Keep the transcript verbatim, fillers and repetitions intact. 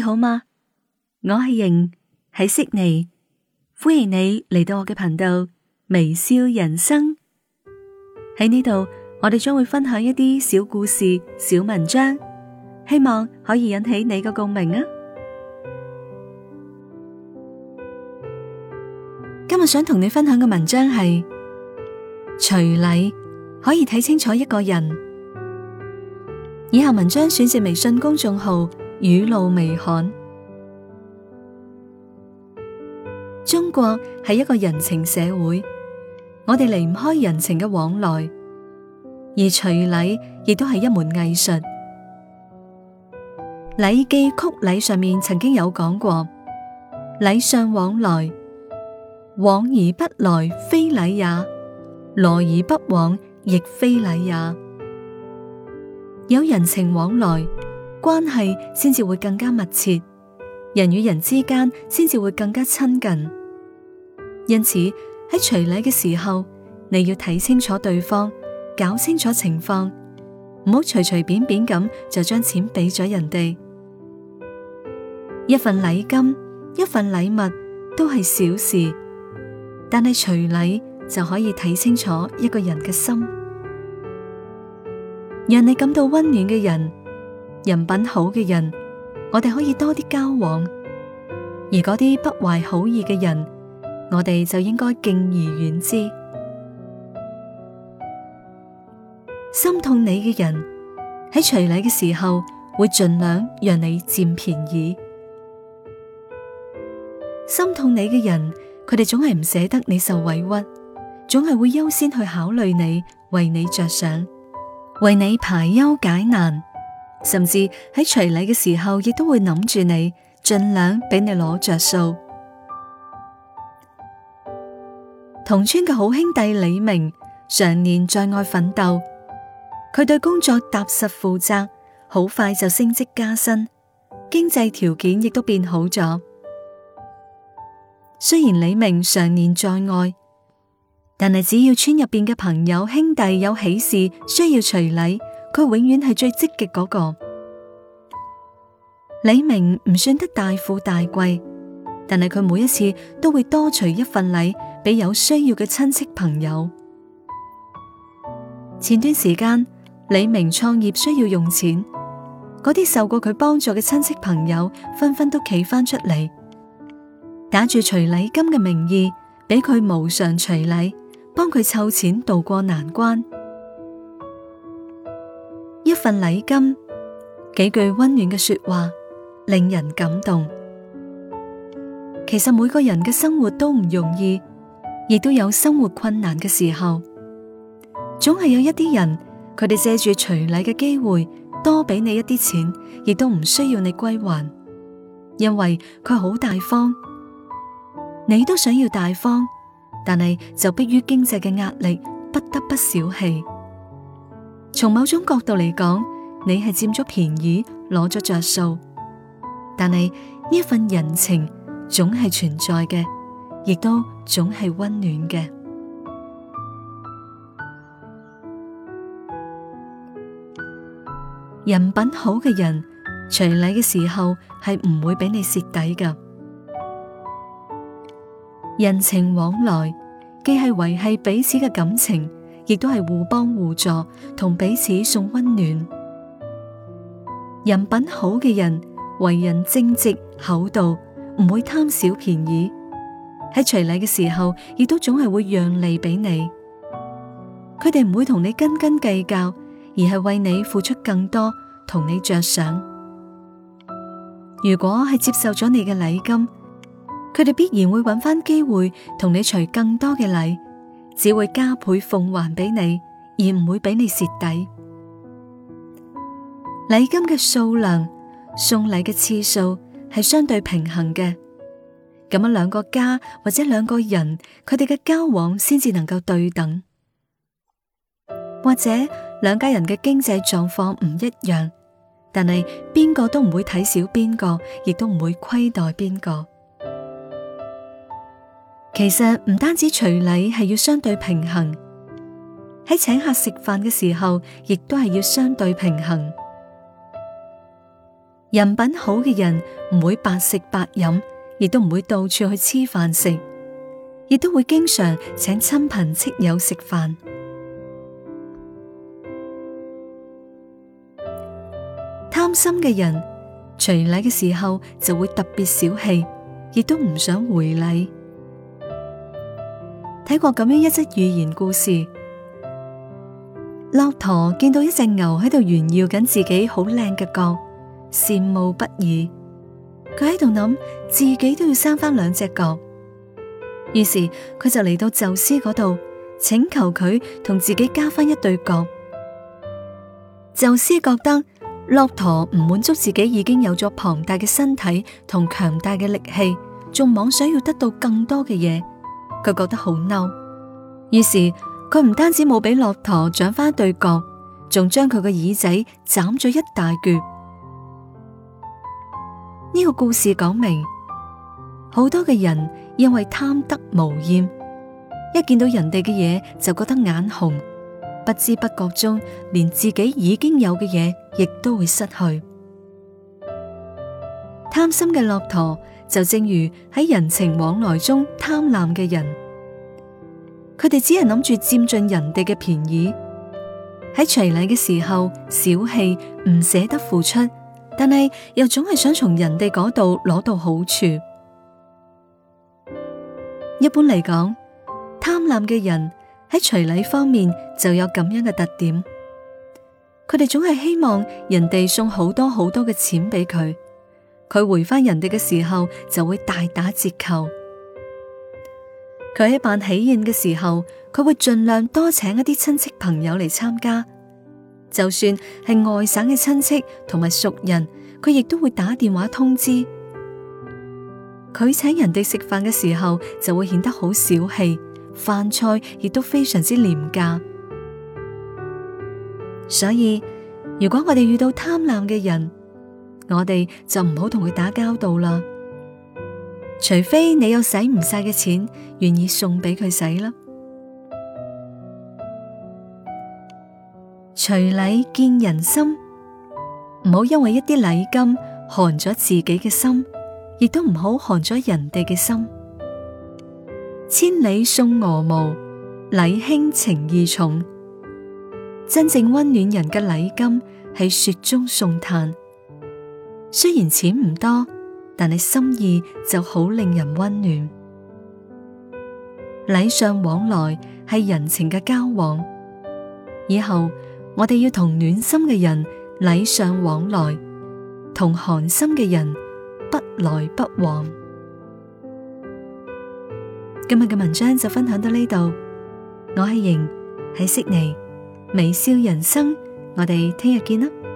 好嗎？我係瑩，喺悉尼，歡迎你嚟到我嘅頻道微笑人生。喺呢度，我哋將會分享一啲小故事、小文章，希望可以引起你嘅共鳴啊！今日想同你分享嘅文章係隨禮可以睇清楚一個人。以下文章選自微信公眾號雨露微寒。中國係一個人情社會，我哋離唔開人情嘅往來，而隨禮亦都係一門藝術。《禮記·曲禮》上面曾經有講過：禮尚往來，往而不來非禮也，來而不往亦非禮也。有人情往來，關係先至會更加密切，人與人之間先至會更加親近。因此喺隨禮嘅時候，你要睇清楚對方，搞清楚情況，唔好隨隨便便咁就將錢俾咗人哋。一份禮金，一份禮物都係小事，但係隨禮就可以睇清楚一個人嘅心。讓你感到溫暖嘅人，人品好嘅人，我哋可以多啲交往；而嗰啲不懷好意嘅人，我哋就應該敬而遠之。心痛你嘅人喺隨禮嘅時候，會盡量讓你佔便宜；心痛你嘅人，佢哋總係唔捨得你受委屈，總係會優先去考慮你，為你着想，為你排憂解難，甚至喺隨禮嘅時候，亦都會諗住你，盡量俾你攞着數。同村嘅好兄弟李明常年在外奮鬥，佢對工作踏實負責，好快就升職加薪，經濟條件亦都變好咗。雖然李明常年在外，但係只要村入邊嘅朋友兄弟有喜事需要隨禮，佢永遠係最積極嗰個。李明唔算得大富大貴，但係佢每一次都會多隨一份禮俾有需要嘅親戚朋友。前段時間李明創業需要用錢，嗰啲受過佢幫助嘅親戚朋友紛紛都企翻出嚟，打住隨禮金嘅名義俾佢無償隨禮，幫佢湊錢渡過難關。一份禮金，幾句溫暖嘅說話，令人感動。其實每個人嘅生活都唔容易，亦都有生活困難嘅時候，總係有一啲人，佢哋借住隨禮嘅機會多俾你一啲錢，亦都唔需要你歸還，因為佢好大方。你都想要大方，但係就迫於經濟嘅壓力，不得不小氣。從某種角度嚟講，你係佔咗便宜，攞咗着數，但係呢份人情總係存在嘅，亦都總係溫暖嘅。人品好嘅人，隨禮嘅時候係唔會俾你蝕底㗎。人情往來既係維繫彼此嘅感情，亦都係互幫互助，同彼此送溫暖。人品好嘅人，為人正直厚道，唔會貪小便宜，喺隨禮嘅時候亦都總係會讓利俾你。佢哋唔會同你斤斤計較，而係為你付出更多，同你着想。如果係接受咗你嘅禮金，佢哋必然會揾翻機會同你隨更多嘅禮，只會加倍奉還俾你，而唔會俾你蝕底。禮金嘅數量，送禮嘅次數係相對平衡嘅，咁樣兩個家或者兩個人，佢哋嘅交往先至能夠對等。或者兩家人嘅經濟狀況唔一樣，但係邊個都唔會睇小邊個，亦都唔會虧待邊個。其實唔單止隨禮係要相對平衡，喺請客食飯嘅時候，亦都係要相對平衡。 人品好嘅人唔會白食白飲，亦都唔會到處去黐飯食，亦都會經常請親朋戚友食飯。貪心嘅人隨禮嘅時候就會特別小氣，亦都唔想回禮。睇過咁樣一則寓言故事，駱駝見到一隻牛喺度炫耀緊自己好靚嘅角，羨慕不已。佢喺度諗自己都要生翻兩隻角，於是佢就嚟到宙斯嗰度請求佢同自己加翻一對角。宙斯覺得駱駝唔滿足自己已經有咗龐大嘅身體同強大嘅力氣，仲妄想要得到更多嘅嘢，佢覺得好嬲。於是佢唔單止冇俾駱駝長翻一對角，仲將佢個耳仔斬咗一大橛。呢個故事講明，好多嘅人因為貪得無厭，一見到人哋嘅嘢就覺得眼紅，不知不覺中連自己已經有嘅嘢亦都會失去。貪心嘅駱駝就正如喺人情往來中貪婪嘅人，佢哋只係諗住佔盡人哋嘅便宜，喺隨禮嘅時候小氣，唔捨得付出，但係又總係想從人哋嗰度攞到好處。一般嚟講，貪婪嘅人喺隨禮方面就有咁樣嘅特點，佢哋總係希望人哋送好多好多嘅錢俾佢，佢回返人哋嘅時候就會大打折扣。佢喺辦喜宴嘅時候，佢會盡量多請一啲親戚朋友嚟參加，就算係外省嘅親戚同埋熟人，佢亦都會打電話通知。佢請人哋食飯嘅時候就會顯得好小氣，飯菜亦都非常之廉價。所以如果我哋遇到貪婪嘅人，我哋就唔好同佢打交道啦。除非你有使唔晒嘅錢，願意送俾佢使啦。隨禮見人心，唔好因為一啲禮金寒咗自己嘅心，亦都唔好寒咗人哋嘅心。千里送鵝毛，禮輕情意重。真正溫暖人嘅禮金係雪中送炭，雖然錢唔多，但係心意就好令人溫暖。禮尚往來係人情嘅交往，以後我哋要同暖心嘅人禮尚往來，同寒心嘅人不來不往。今日嘅文章就分享到呢度，我係瑩，喺悉尼微笑人生，我哋聽日見啦。